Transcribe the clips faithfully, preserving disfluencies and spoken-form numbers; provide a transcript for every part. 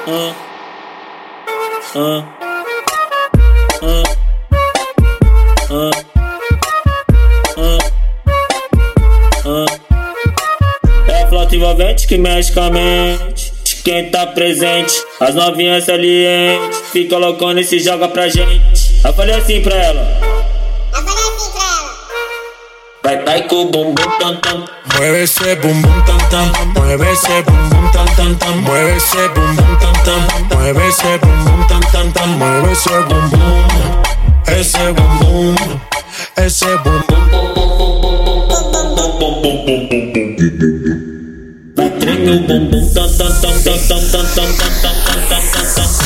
Uh, uh, uh, uh, uh, uh. É a flauta envolvente que mexe com a mente de quem tá presente. As novinhas salientes fica loucona e se joga pra gente. Eu falei assim pra ela. Eu falei assim pra ela. Vai, vai com o bumbum tam tam. Mueve ese bum bum tam tam, mueve ese bum bum tam tam tam, mueve ese bum bum tam tam, mueve ese bum bum tam tam tam, mueve ese bum bum, ese bum bum, ese bum bum. Vai tremer o bumbum tam tam tam tam tam tam tam tam tam tam tam.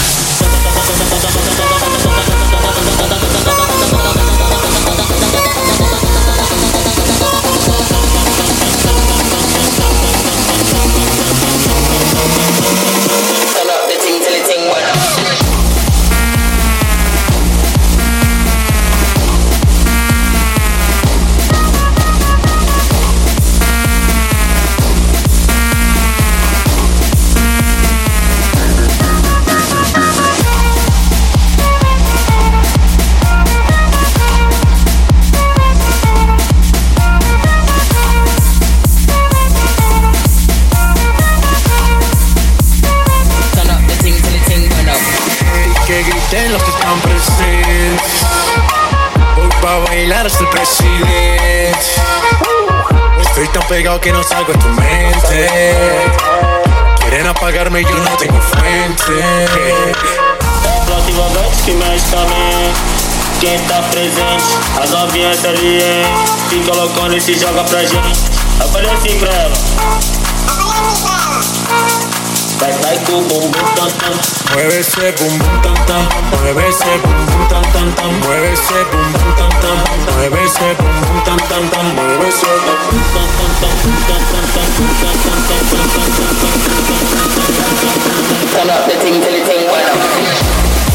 Que griten los que están presentes. Voy pa' bailar hasta el presidente. Estoy tan pegado que no salgo de tu mente. Quieren apagarme y yo no tengo fuente. Flauta envolvente que mexe com a mente. Quem tá presente, as novinhas salientes fica loucona e se joga pra gente. Eu falei assim pra ela. Eu falei assim pra ela. Vai, vai com o bumbum tam tam. Mueve ese bum bum tam tam, mueve ese bum bum tam tam tam, mueve ese bum bum tam tam, mueve ese bum bum tam tam tam, mueve ese bum bum tam tam tam tam tam tam tam tam. Turn up the ting till the ting went up.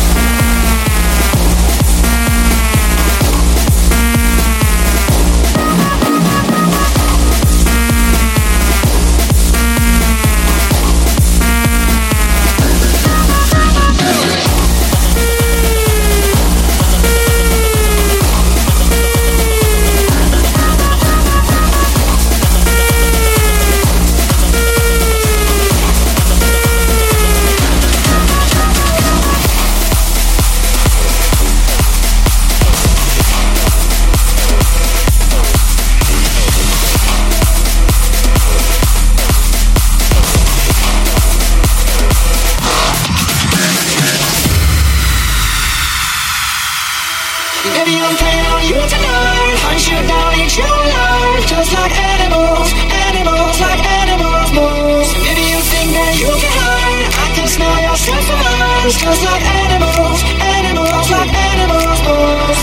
Baby, I'm playing on you tonight. Hunt you down, eat you alive. Just like animals, animals, like animals move. Baby, you think that you can hide. I can smell your scent from eyes. Just like animals, animals, like animals move.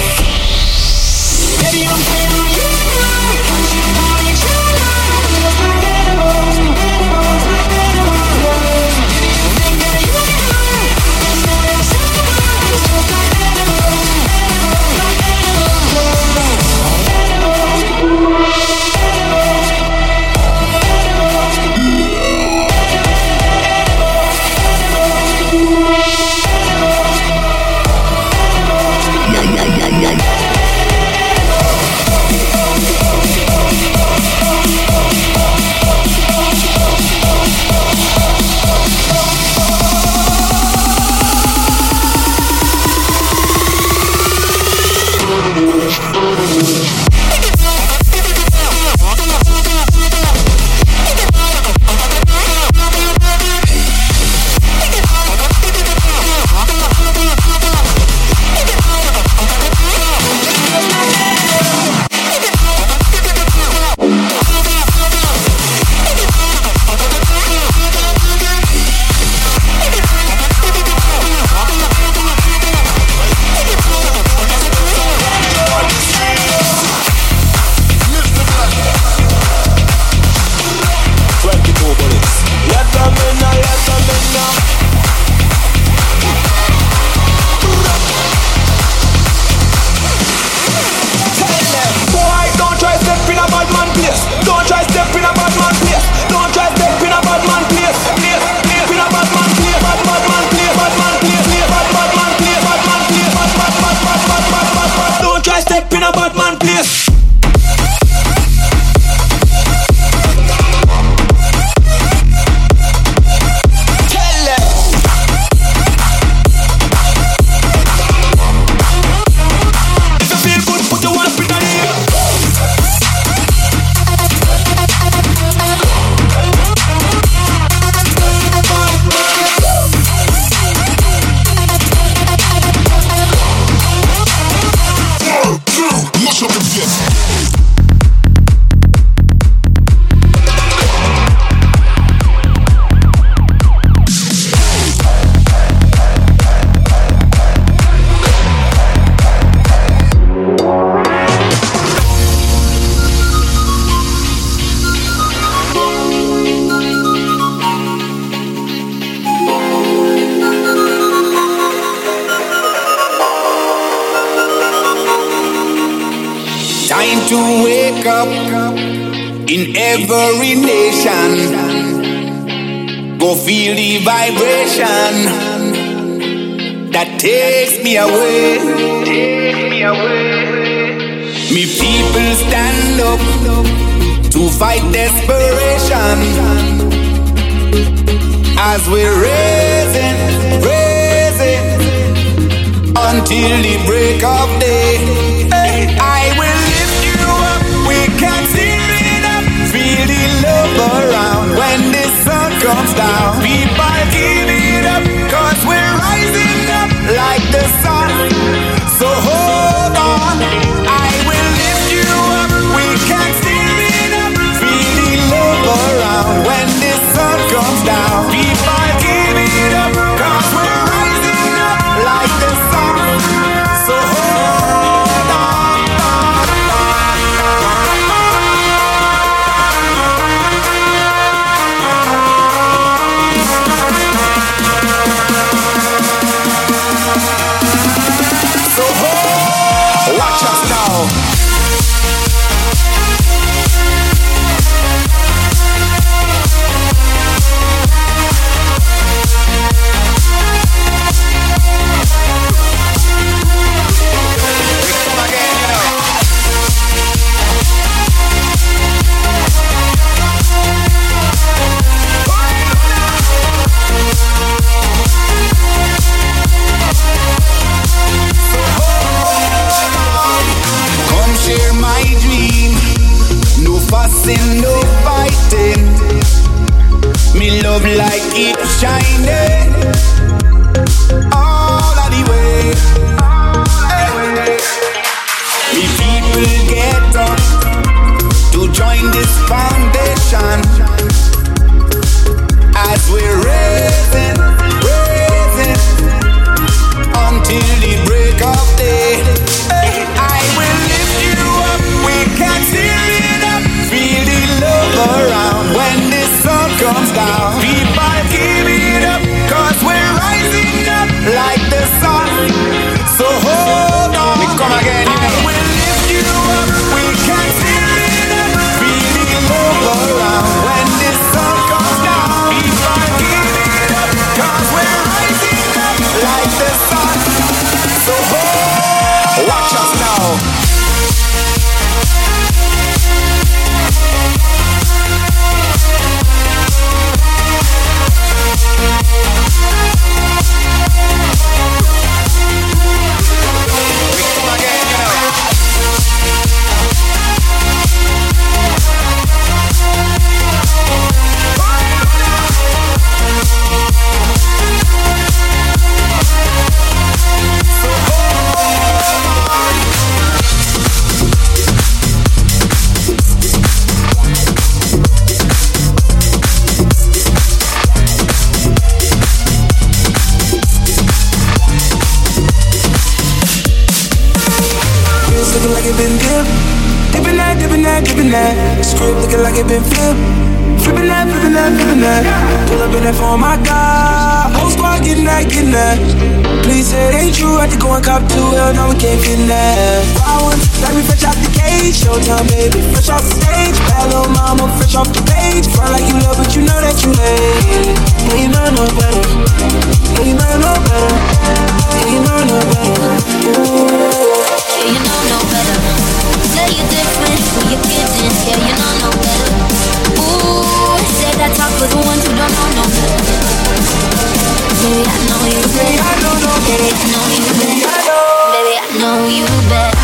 Baby, I'm playing on you tonight. Hunt you down, eat you alive. Just like animals, animals, like animals move. Baby, you think that you can hide. I can smell your scent from eyes. Just like animals. Animals. to wake up in every nation. Go feel the vibration that takes me away. Takes me away. Me people stand up to fight desperation as we're raising, raising until the break of day. Hey, I will lift you up. We can tear it up. Feel the love around when the sun comes down. People give it up, cause we're rising up like the sun. So hold on, I will lift you up. We can tear it up. Feel the love around when the sun comes down. People give it up, cause we're rising up like the sun. So hold on. Watch us now. Share my dream, no fussing, no fighting. Me love like it shining all of the way. Hey. Me people get up to join this foundation as we're raising, raising until the break of day. Hey. I will lift you up, we can tear it up. Feel the love around when the sun comes down. People give it up, cause we're rising up like the sun. So hold on, we come again, you know. I will lift you up, we can tear it up. Feel the love around when the sun comes down. People give it up, cause we're rising up like the sun. So hold, watch us now. Looking like it been dipped, dipping that, dipping that, dipping that. Script looking like it been flipped, flipping that, flipping that, flipping that. Pull up in that phone, my God. Whole squad getting that, getting that. Please say it ain't true. I had to go and cop two. Hell no, we can't fit in that. Wild ones, like me fresh out the cage. Showtime, baby, fresh off the stage. Bad little mama, fresh off the page. Front like you love, but you know that you hate. Yeah, you know no better. Yeah, you know no better. Yeah, you know no better. Ooh. Yeah, you know no better. Say you're different, who you kidding? Yeah, you know no better. Ooh, say that talk for the ones who don't know no better. Baby, I know you better. Baby, I know no better. Baby, I know you better. Baby, I know you better.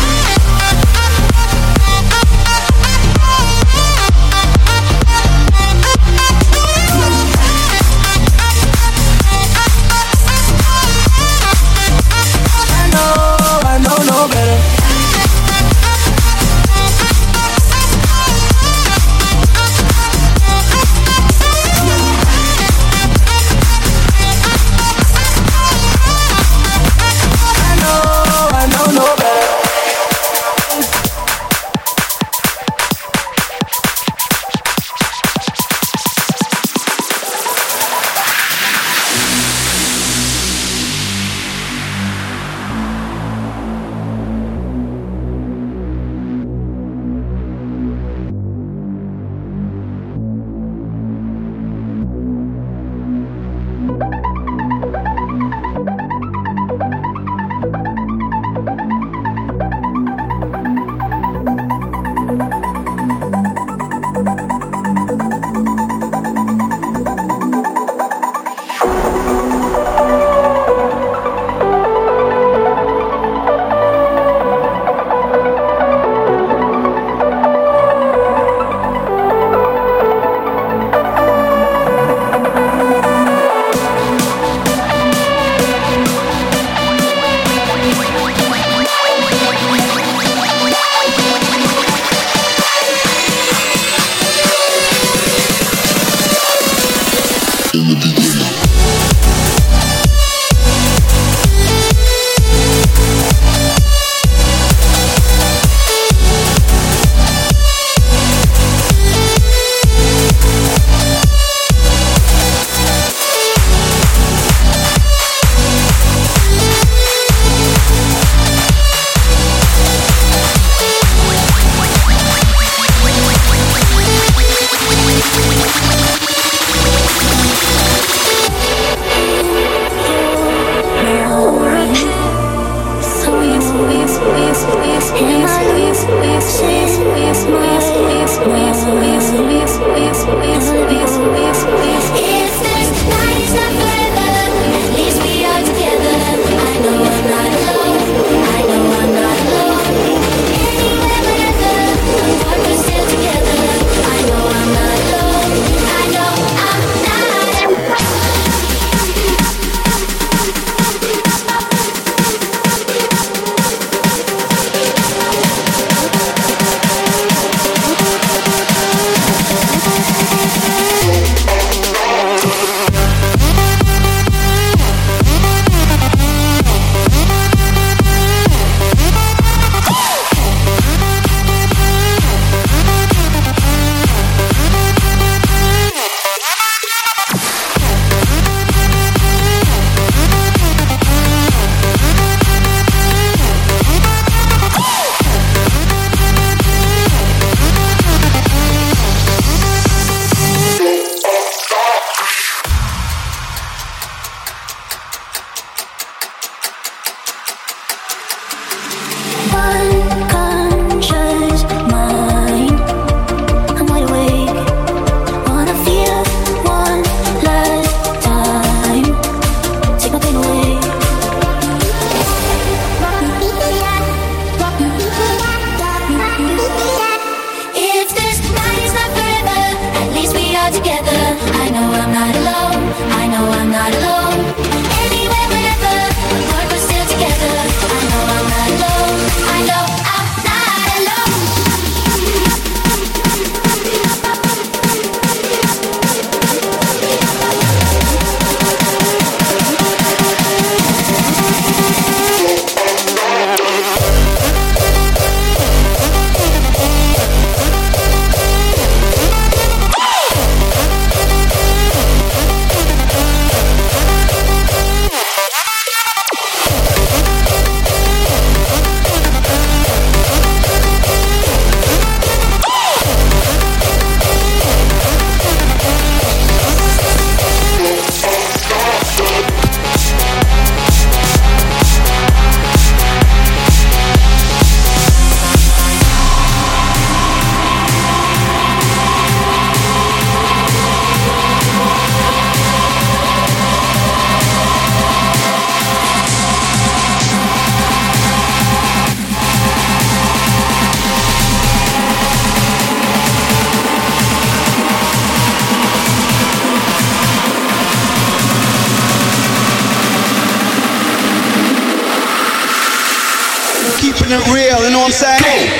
Keeping it real, you know what I'm saying?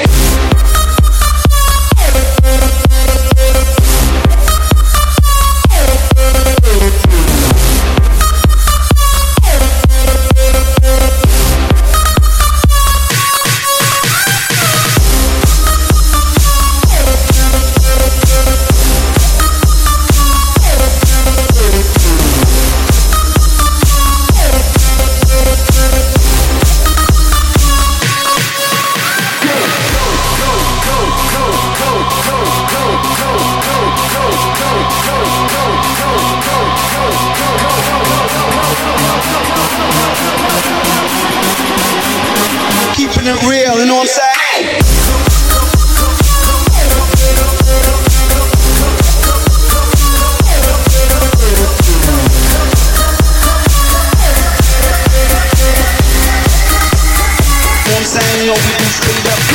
Keeping it real, you know what I'm saying? You know what I'm saying? You know we do straight up.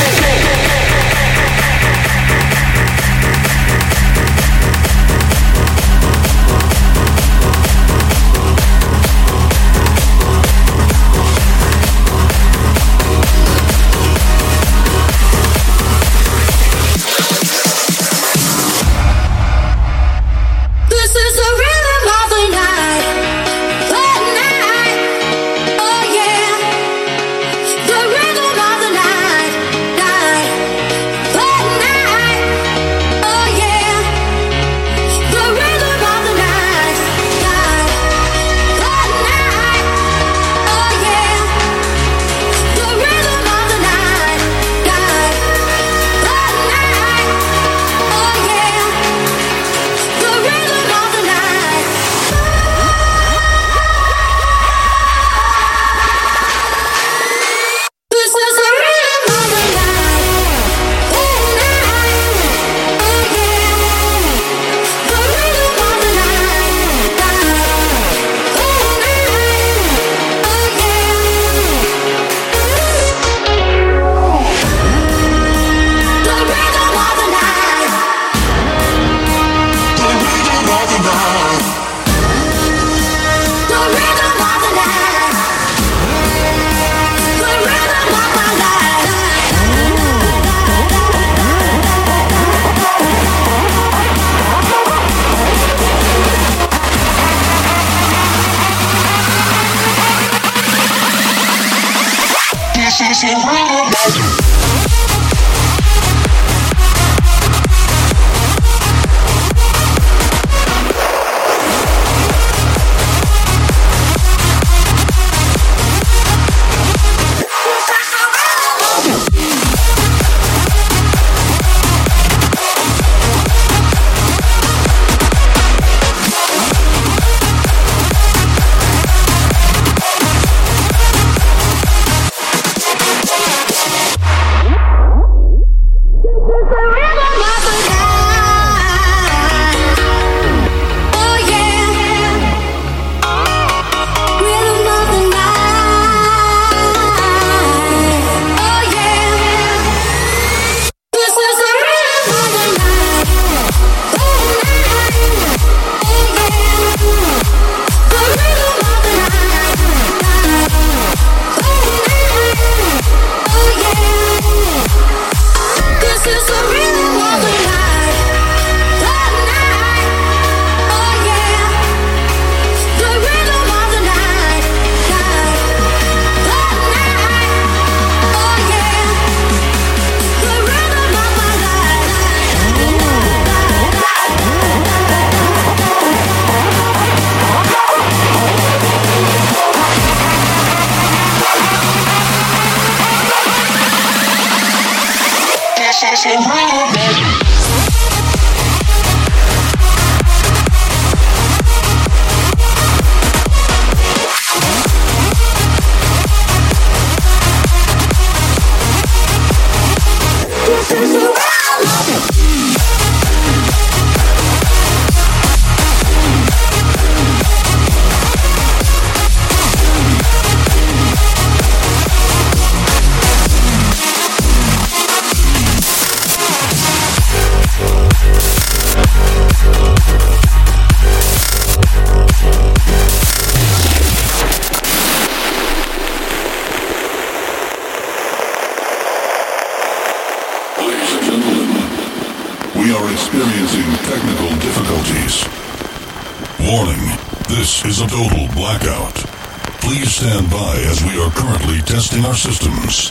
is a total blackout. Please stand by as we are currently testing our systems.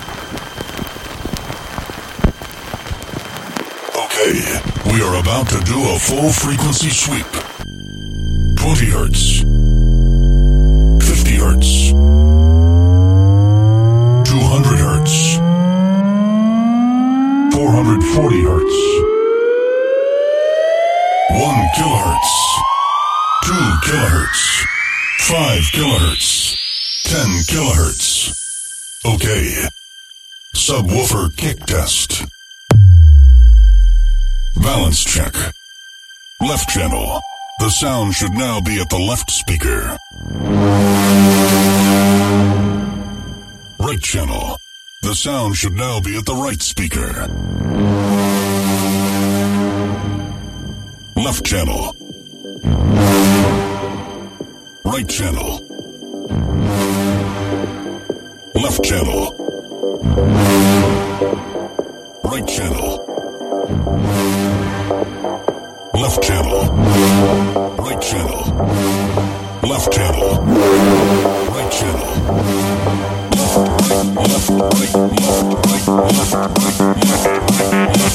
Okay, we are about to do a full frequency sweep. twenty hertz. fifty hertz. two hundred hertz. four hundred forty hertz. one kilohertz. two kilohertz. five kilohertz. ten kilohertz. Okay. Subwoofer kick test. Balance check. Left channel. The sound should now be at the left speaker. Right channel. The sound should now be at the right speaker. Left channel. Right channel. Left channel. Right channel. Left channel. Right channel. Left channel. Right channel. Left, right, left, right, left, right, left, right, left,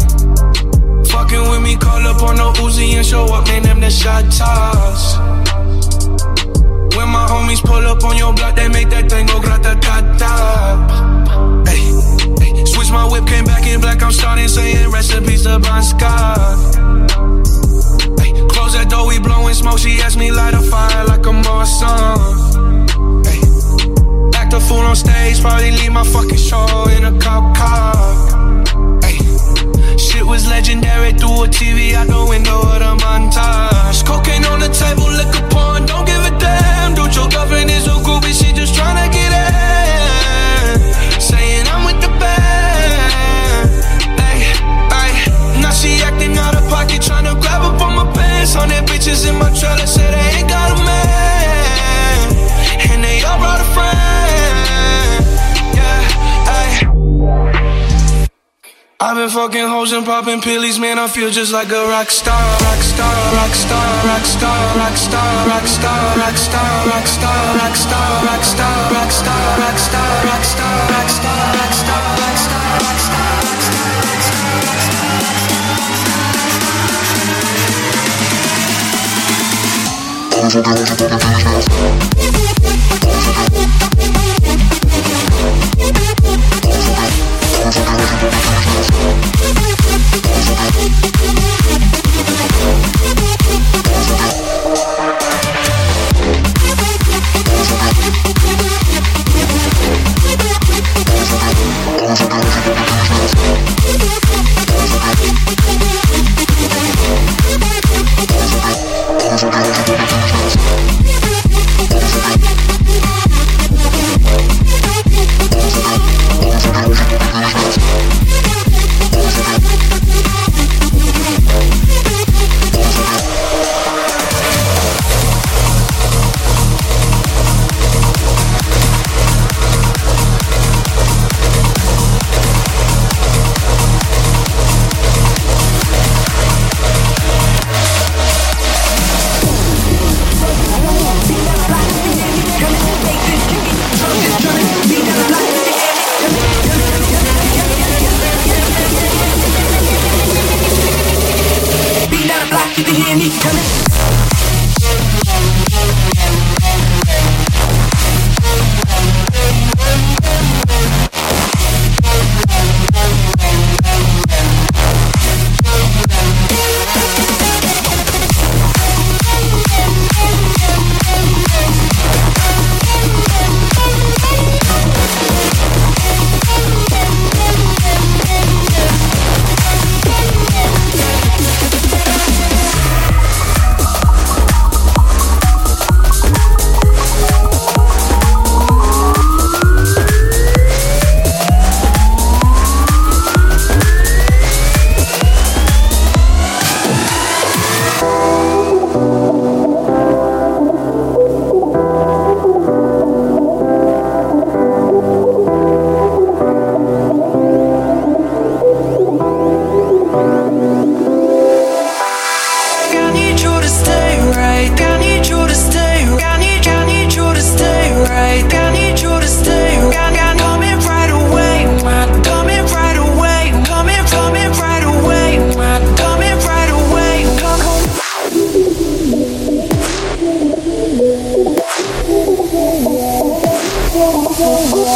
Fucking with me, call up on no Uzi and show up, name them the shot toss. shawty saying recipes to Bon Scott. Ay, close that door, we blowing smoke. She asked me light a fire like a Marsan. Ay, act a fool on stage, probably leave my fucking show in a cop car. Ay, shit was legendary through a T V out the window of the montage. Cocaine on the table, liquor porn, don't give a damn. Dude, your girlfriend is a groupie, she just tryna get in. Saying I'm with the band. Ay, ay, now she acting out of pocket, tryna grab up on my pants. Hundred bitches in my trailer, say they ain't got a man, and they all brought a friend. Yeah, ay. I've been fucking hoes and popping pillies, man, I feel just like a rock star. Rock star, rock star, rock star, rock star, rock star, rock star, rock star, rock star, rock star, rock star, rock star, rock star, rock star, rock star, rock star, rock star. Go, go, go.